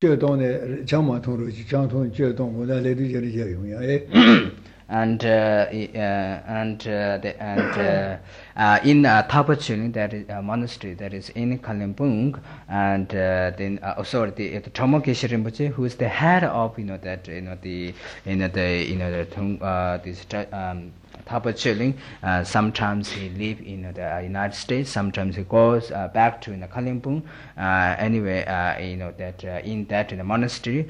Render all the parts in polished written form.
这东的讲嘛通了，讲通这东我在来对这里就用呀，哎。 In Tapachuli, that is a monastery that is in Kalimpong, and then sorry, the Tomokeshe Rinpoche, who is the head of that this Tapachuli. Sometimes he live in the United States. Sometimes he goes back to Kalimpong. Anyway, that in the monastery,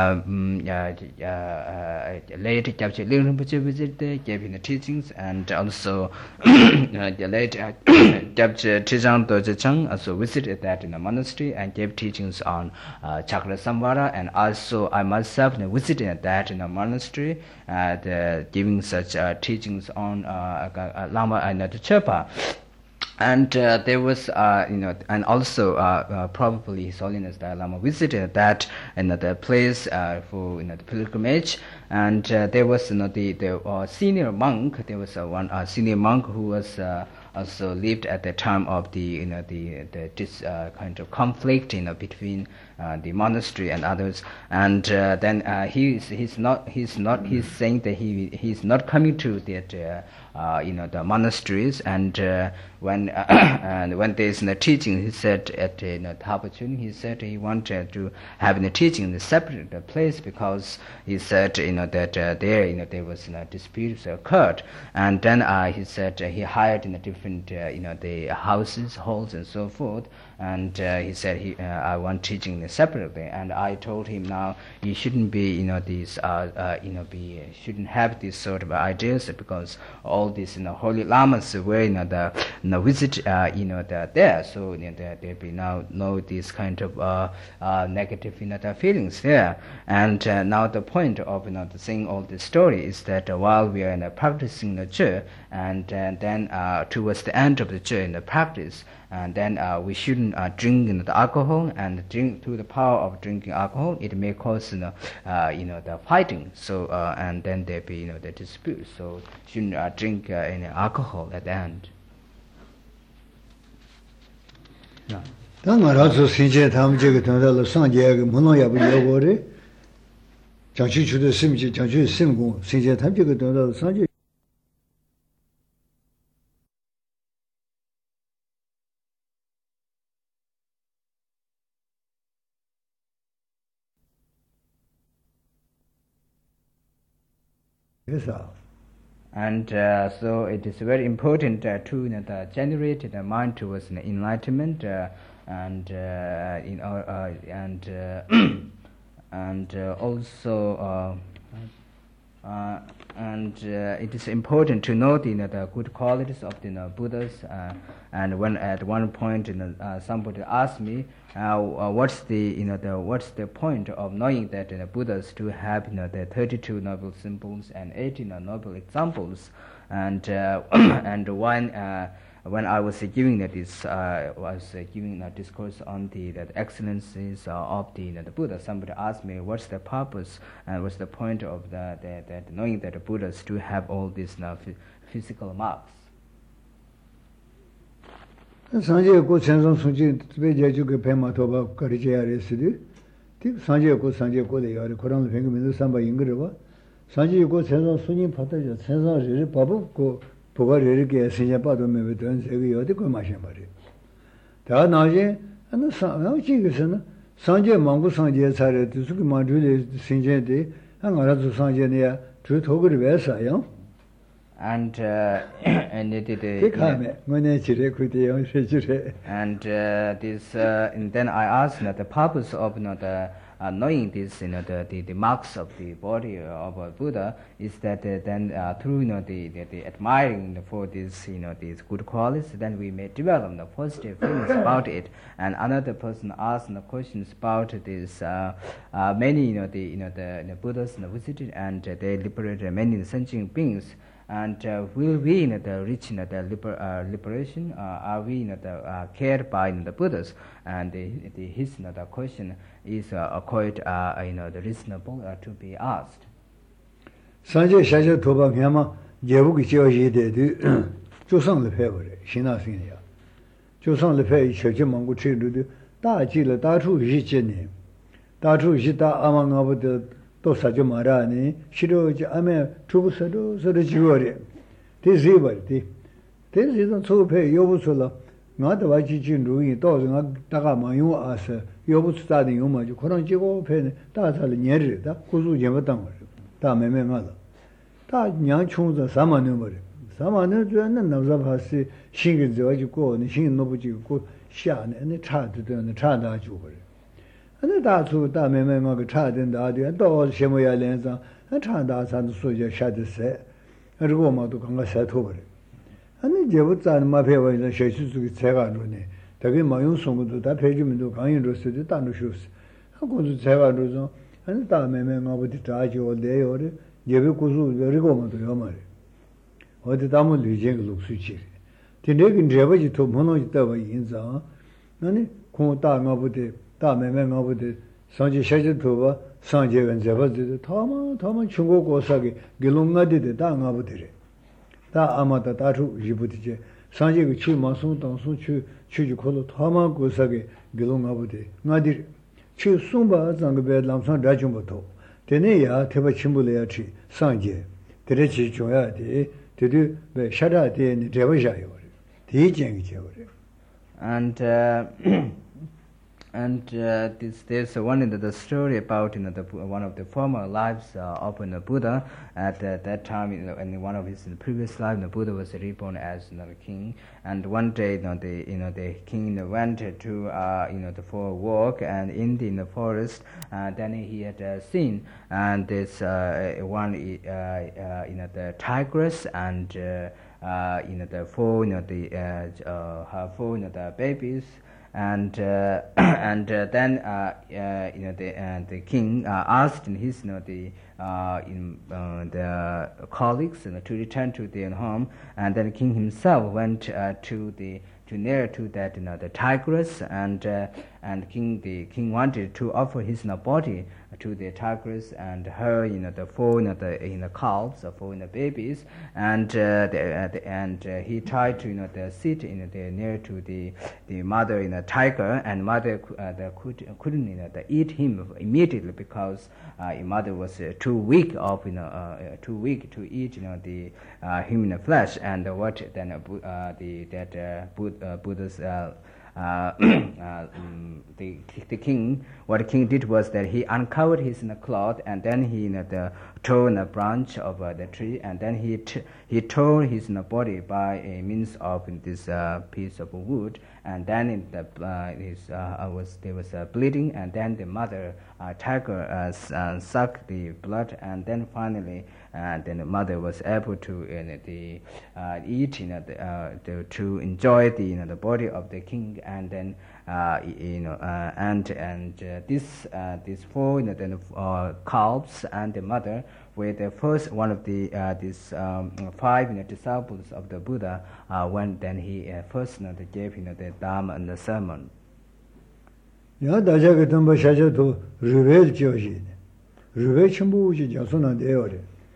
late Gyabche Rinpoche visited, gave him the teachings, and also the late Gyabche Trijang Dorje Chang also visited that in the monastery and gave teachings on Chakra Samvara, and also I myself visited that in the monastery, giving such teachings on Lama and Chepa. And there was, and also probably His Holiness Dalai Lama visited that the place for the pilgrimage, and there was the senior monk. There was one senior monk who was also lived at the time of the this kind of conflict between the monastery and others, and then he's saying that he's not coming to that the monasteries, and when there's a teaching, he said at Tapachuni, he said he wanted to have the teaching in a separate place, because he said that there was disputes occurred, and then he said he hired in a different the houses, halls, and so forth, and he said I want teaching separately, and I told him now you shouldn't be shouldn't have these sort of ideas, because all these holy lamas were the visit there, so there be now no these kind of negative feelings there, and now the point of saying all this story is that while we are practicing the chur, and then towards the end of the chur in the practice, and then we shouldn't drink the alcohol, and drink through the power of drinking alcohol, it may cause the fighting. So and then there be the dispute. So shouldn't drink any alcohol at the end. Yeah. 当我老是现在他们这个等到了上节个门龙也不要过的，讲起去的什么讲起什么工，现在他们这个等到了上节。 And so it is very important to generate the mind towards enlightenment, and and also it is important to know the good qualities of the Buddhas. And when at one point somebody asked me, what's the point of knowing that the Buddhas to have the 32 noble symbols and 18 noble examples, and and when I was giving this giving a discourse on the excellencies of the Buddha, somebody asked me what's the purpose and what's the point of that knowing that the Buddhas do have all these physical marks. 上节过前上从今别家就给拍马头把搞的这样的是的，这上节过的要的，可能平个名字300英个的吧，上节过前上从今跑到就前上是巴不过不过这个新鲜报道没有断这个要的过马先把的，他那些那上然后这个是呢，上节忙过上节才的，就是个忙出的新鲜的，俺那做上节呢，就头个的为啥样？ And and this and then I asked the purpose of knowing this the marks of the body of a Buddha is that then through the admiring for this these good qualities, then we may develop the positive feelings about it. And another person asked the questions about this many the Buddhas visited, and they liberated many sentient beings. And will we reach the liberation? Are we cared by the Buddhas? And his the question is quite reasonable to be asked. Sanje shaja toba myama jebu ki jiao yi de de zhou sang le pei wo de xin na xin ya. Zhou sang le pei che che mang gu che lu de da ji le da chu yi jie ne. 다주 시다 아망아부터 또 사죠 말아니 싫어지 아메 주부서도 서로 지워래 대세버디 대세는 소패 여부서라 나도 와지진 루이 또가 다가 마요 아서 여부스다는 요마지 그런 지고 패네 다살 년르다 구수 제거당 거 다매매 맞아 다 냥충자 사만은 버려 사만은 주는 남자파시 신경 저지고 신경 놓부지고 샤네 차드는 차다 주고那大处大妹妹我个差点大点，到什么样脸上，差大山的说就下的塞，这个嘛都刚刚塞脱了。那结果咱嘛陪我那学习这个才干着呢，这个没用送个都，他陪你们都刚用着是的，当着休息。我是才干着说，大妹妹我不得扎脚来要的，也别故事这个嘛都要嘛的。我的他们旅行个露水去的，今天跟这边去偷碰到一大把银子啊，那呢，空大我不得。大妹妹我不得上去下去头发上去跟这边子他们全国国上给弄我的大我不得嘞大阿妈的大处也不得去上去个去马松当松去可能他们国上给弄我不得我的去松巴这个别南上这全部头这那呀特别全部来去上去这里去重要的这里被下来的你这边下有的第一件个结果的 And there's one in the story about one of the former lives of Buddha. At that time, in one of his previous lives, the Buddha was reborn as a king. And one day, the king went to for a walk, and in the forest, then he had seen and this the tigress and the four her four the babies. And then the king asked his the colleagues to return to their home, and then the king himself went to near to that the tigress, and the king wanted to offer his body to the tigress and her the four the calves for the babies, and he tried to sit near to the mother tiger, and mother couldn't eat him immediately because mother was too weak to eat the human flesh. And what then Buddha's the king, what the king did was that he uncovered his cloth, and then he tore a branch of the tree, and then he tore his body by a means of this piece of wood, and then there was bleeding, and then the mother tiger sucked the blood, and then finally then the mother was able to eat to enjoy the body of the king, and then these four calves and the mother were the first one of these five disciples of the Buddha when then he first gave the Dharma and the sermon. 야 다자가 덤바 샤자도 르벨 지어지 르벨 첨부지 자소나 되어래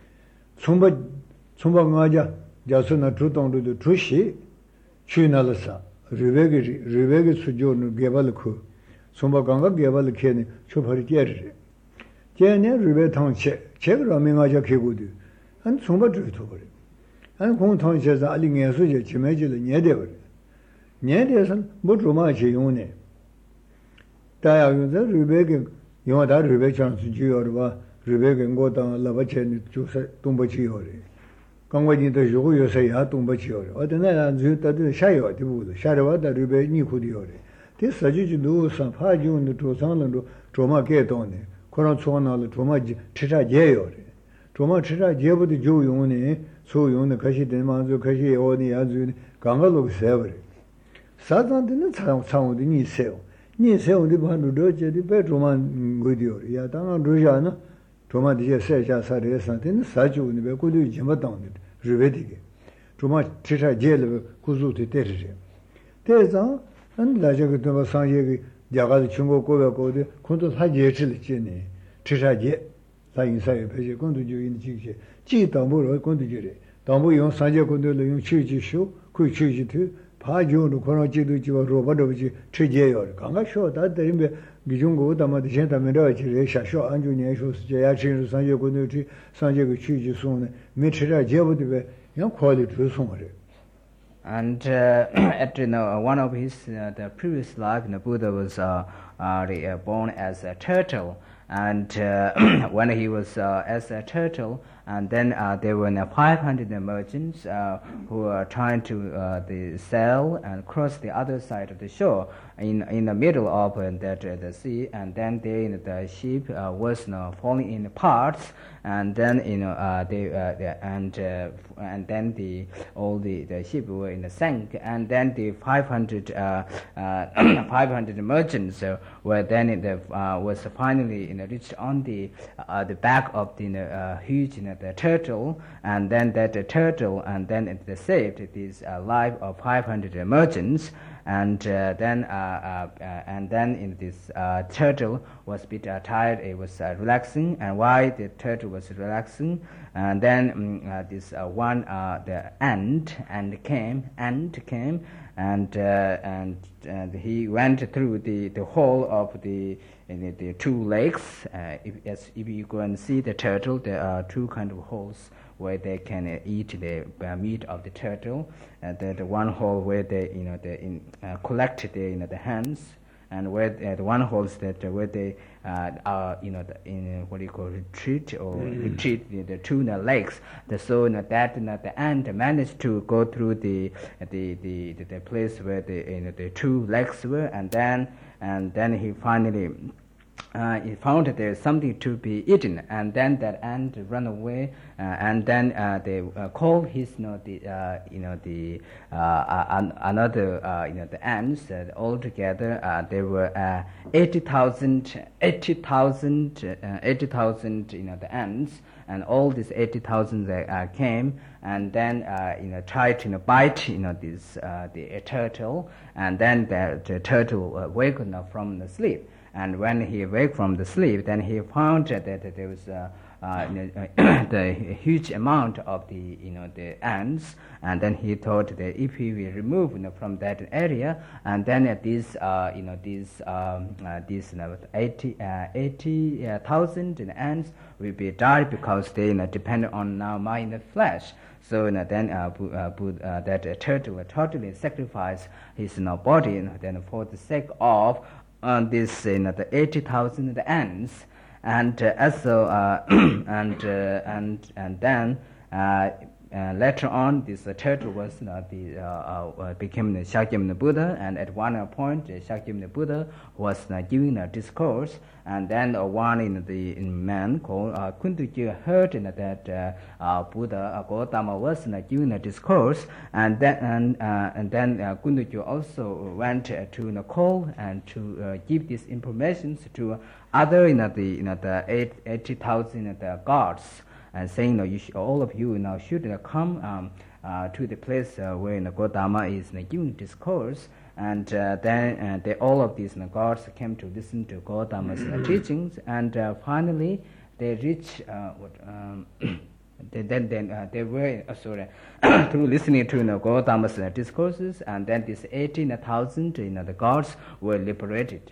총바 가자 자소나 주동도 주시 취나르사 르벨게 수조는 개발코 총바 강가 개발 케네 초파리 깨르 제네 르벨 통체 제가 명하자 개고도 한 총바 주도 버려 한 공통체에서 알링에 수제 지매지를 녀대 버려 녀대선 뭐 좀아지 용네 다야 요새 르벨게 영화다 르벨 찬스 지어봐 르벨게 고당 라바체니 주세 동버지요래 강화진도 요거 요새야 동버지요래 어디나 주다도 샤요 되고 샤려와다 르벨 니코디요래 대사지지 누우선 파지운도 조상는도 조마게 돈네 그런 초나를 조마지 치자제요래 조마 치자제부터 조용네 소용의 것이 되면서 것이 어디 아주 강가로 세버려 사단들은 상상도 니세요 니세요도 반도도 제디 배조만 거디요 야 당한 로자나 조마 뒤에 세자 사례산테는 사주는 배 고도 지마당데 르베디게 조마 치자제를 구조도 때리죠 대자 안 라저도 상예의 야가도 중국 고백고도 콘도 사제를 지네 치자제 사인사의 배제 건도 주인 지게 지담보로 건도 주래 담보 용 사제 건도를 용 취지쇼 그 취지도 파ጆ로 코로지도 지와 로바도지 취제요 강가쇼 다들이 기중고 담아 디션 담에라 지레 샤쇼 안주 년쇼 제야 진수 상제 고노지 상제의 취지 송네 메트라 제부디베 양 퀄리 주송어래. And at one of his the previous life, Buddha was born as a turtle, and when he was as a turtle, and then there were 500 merchants who were trying to sail and cross the other side of the shore in the middle of the sea, and then the ship was falling in parts, and then and then all the ship were in the sank, and then the 500 merchants were then was finally reached on the back of the huge the turtle, and then that turtle and then it saved this life of 500 merchants. And then in this turtle was a bit tired. It was relaxing, and while the turtle was relaxing, and then this one the ant came, and he went through the hole of the two legs. If you go and see the turtle, there are two kind of holes where they can eat the meat of the turtle. The one hole where they collect the hands, and where the one holes that where they are in what do you call retreat the two legs. So that the ant managed to go through the place where the two legs were, and then he finally. He found that there is something to be eaten, and then that ant ran away, and then they called his the ants all together. There were 80,000 the ants, and all these 80,000 came, and then tried to bite the turtle, and then the turtle wakened up from the sleep. And when he awake from the sleep, then he found that there was the huge amount of the ants, and then he thought that if he will remove from that area, and then these 80,000 ants will be died because they depend on now my flesh. So then that turtle will totally sacrifice his body then for the sake of this the 80,000 ants, and also and then later on this turtle was became the Shakyamuni Buddha, and at one point Shakyamuni Buddha was giving a discourse, and then one man called Kuntuji heard that Buddha Gautama was giving a discourse, and then Kuntuji also went to call and to give this information to other the 80,000 gods, and saying all of you now should come to the place where Gautama is giving discourse, and then all of these gods came to listen to Gautama's teachings, and finally they reached they were through listening to Gautama's discourses, and then these 18,000 the gods were liberated.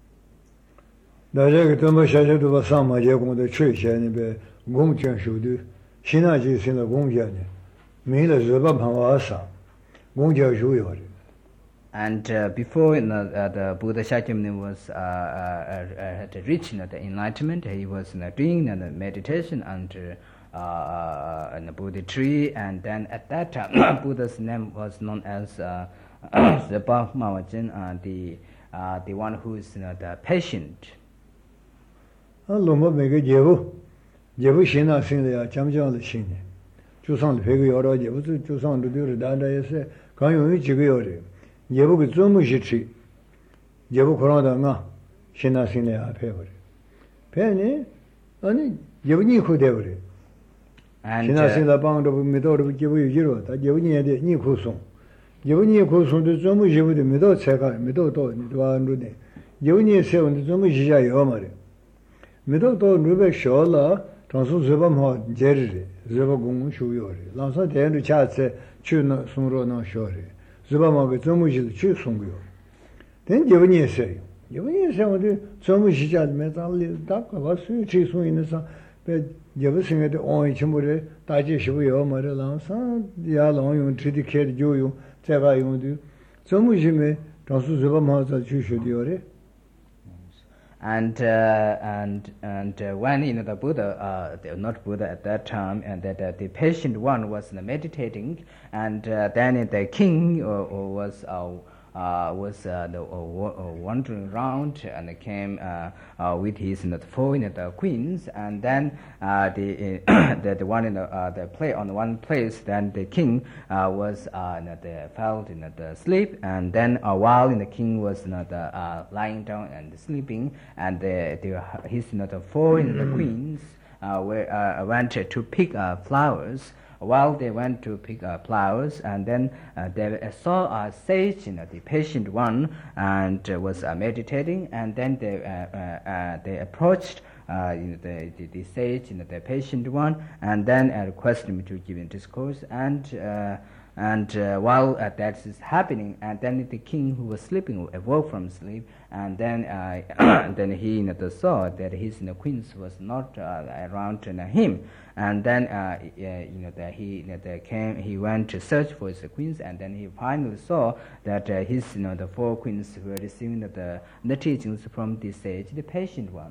And before the Buddha Shakyamuni was had reached the enlightenment, he was doing the meditation under the Buddha tree, and then at that time Buddha's name was known as Zepa Mawajin, the one who is the patient. jebu shina sing ya jamjang le sing ne ju sang le pe ge yo ro je bu ju sang lu de da da ye se gang yong yi ji ge yo de jebu ge zong mu shi chi jebu ko da nga shina sing le ya pe bo pe ne ani jebu ni ko de bo shina sing la bang do mi do do jebu yu ji ro da jebu ni de ni ko song jebu ni ko song de zong mu jebu de mi do che ga mi do do ni do an lu de jebu ni se won de zong mu ji ja yo ma de middle to nube shola transu zeba ma jerri zeba gung shu yori lansa den cha se chu no sungro no shori zeba ma ge zomu ji chu sung yo den je ni se 이번에 생활에 좀 시작하면 달리 딱 와서 지수 있는 사 여보생에도 오이 침물에 다지 쉬고요 말을랑서 야롱용 지디케 조용 제가 용도 좀 심해 다수 제가 맞아 주셔도요. And when the Buddha, not Buddha at that time, and that the patient one was meditating, and then the king was wandering around and came with his four queens, and then the one in the play on one place. Then the king was fell in the sleep, and then while the king was lying down and sleeping, and his four queens went to pick flowers. While they went to pick flowers, and then they saw a sage, the patient one, and was meditating, and then they approached the sage, the patient one, and then requested him to give him discourse, and while that is happening, and then the king who was sleeping awoke from sleep, and then then he saw that his queens was not around him, and then he went to search for his queens, and then he finally saw that his the four queens were receiving the teachings from the sage, the patient one.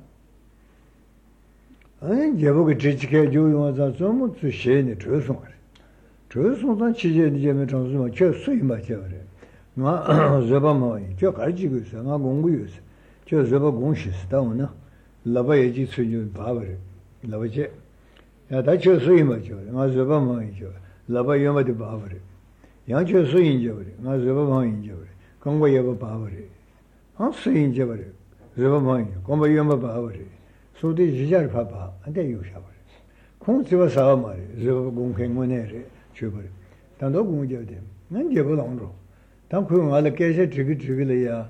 아니 제보게 지지게 조용하자 좀 주시네 저송. 저송단 지제 이제면 정수만 저 수이 맞죠래. 나 저바마이 저 가지고 있어. 나 공부했어. 저 저바 공시스 다오나. 라바예지 수준 바버래. 라바제. 야 다저 수이 맞죠래. 나 저바마이 저. 라바 요마데 바버래. 양저 수인저래. 나 저바마이저래. 공부 여바 바버래. 아 수인저래. 저바마이 공부 요마 바버래. 소디 지자를 봐봐. 안돼 요샤버래. 공지와 싸워 말이. 저 공행문에래. 줘버려. 단도 공부해야 난 제보랑로. 단 그거 알아 깨서 지기지기래야.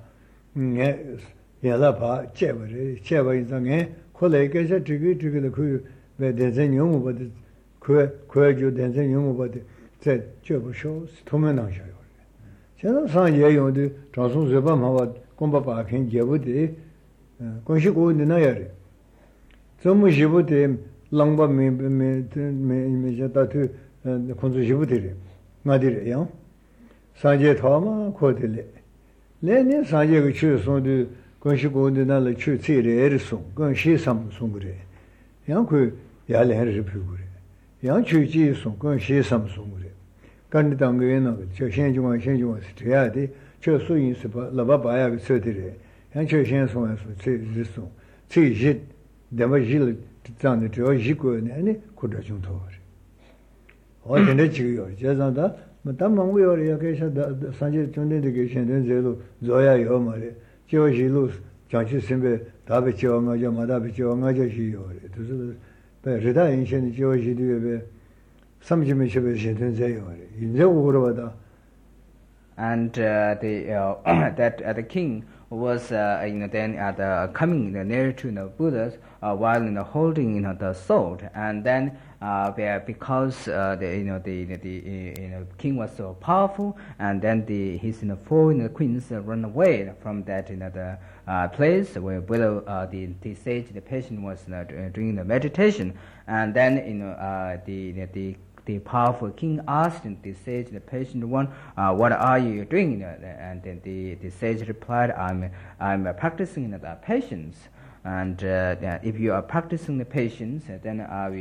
얘라 봐. 제버래. 제버 인상에 콜레 깨서 지기지기래 그왜 대전 용어 버드 그저 대전 용어 버드 제 줘보쇼. 도면 나셔요. 제가 상 예용도 장수 제바 마와 공부봐 캔 제보데 공시고 되나야래. 좀 시부데 랑바 메메메메메자다투 콘주시부데레 마디레요 사제 토마 코데레 레네 사제가 추송도 건시고는날 추치레르송 건시삼송그레 양그 야레르 피구레 양추지송 건시삼송그레 간디당게나 저신중앙 스트야데 저 수인스 라바바야 서데레 양추신송에서 제지송 제지 데마질 장의 저 지구네 고다중토 어제는 지금요. 제자다 뭐담망고요. 이렇게 산지 전대되게 신된 제로 줘야요 말이야. 저시로 장치 선배 답에 지어가자 마답에 지어가자 시요. 그래서 배르다 인신이 저시도에 30몇 십에 신된 제요. 이제 오거라다. And that the king was then coming near to the Buddhas while holding the sword, and then because the king was so powerful, and then his four queens run away from that the place where below the sage, the patient, was doing the meditation, and then the powerful king asked the sage, the patient one, what are you doing? And then the sage replied, I'm practicing the patience. And if you are practicing the patience, then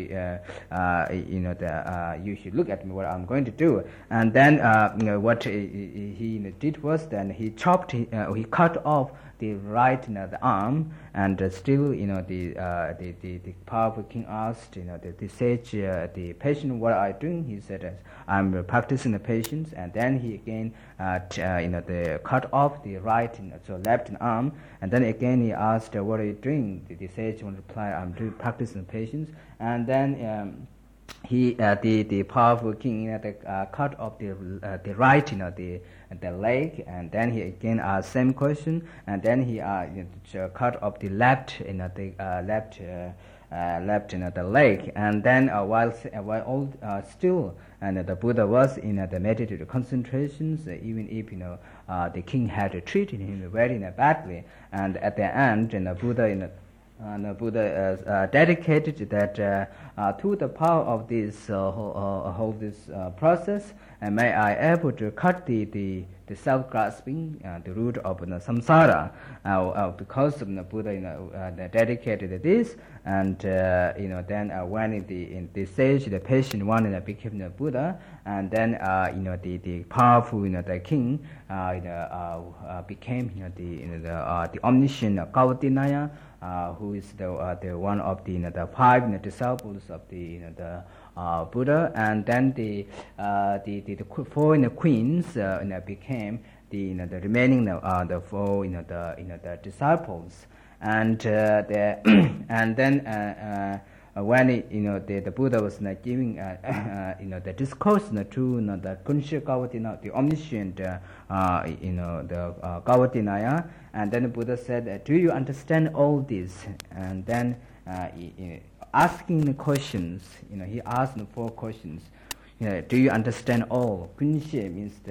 you should look at me, what I'm going to do. And then what he did was then he cut off the right the arm, and still the powerful king asked the sage, the patient, what are you doing? He said, I'm practicing the patience. And then he again cut off the right so left arm, and then again he asked, what are you doing? The sage replied, I'm practicing patience. And then he the powerful king cut off the right the leg, and then he again asked same question, and then he cut off the left left the leg, and then while all still and the Buddha was in the meditative concentrations, even if the king had treated him very badly, and at the end the Buddha dedicated that to the power of this whole this process, and may I able to cut the self-grasping, the root of samsara, because of the Buddha dedicated this, and then when in the stage the patient one became the Buddha, and then the powerful the king became the omniscient Kautinaya, who is the one of the five disciples of the Buddha, and then the four queens became the remaining the four the disciples, and and then when the Buddha was giving the discourse to the Kunshi Kawatina, the omniscient the Kawatinaya, and then the Buddha said, do you understand all this? And then asking the questions, he asked the four questions. Do you understand all? Kunshi means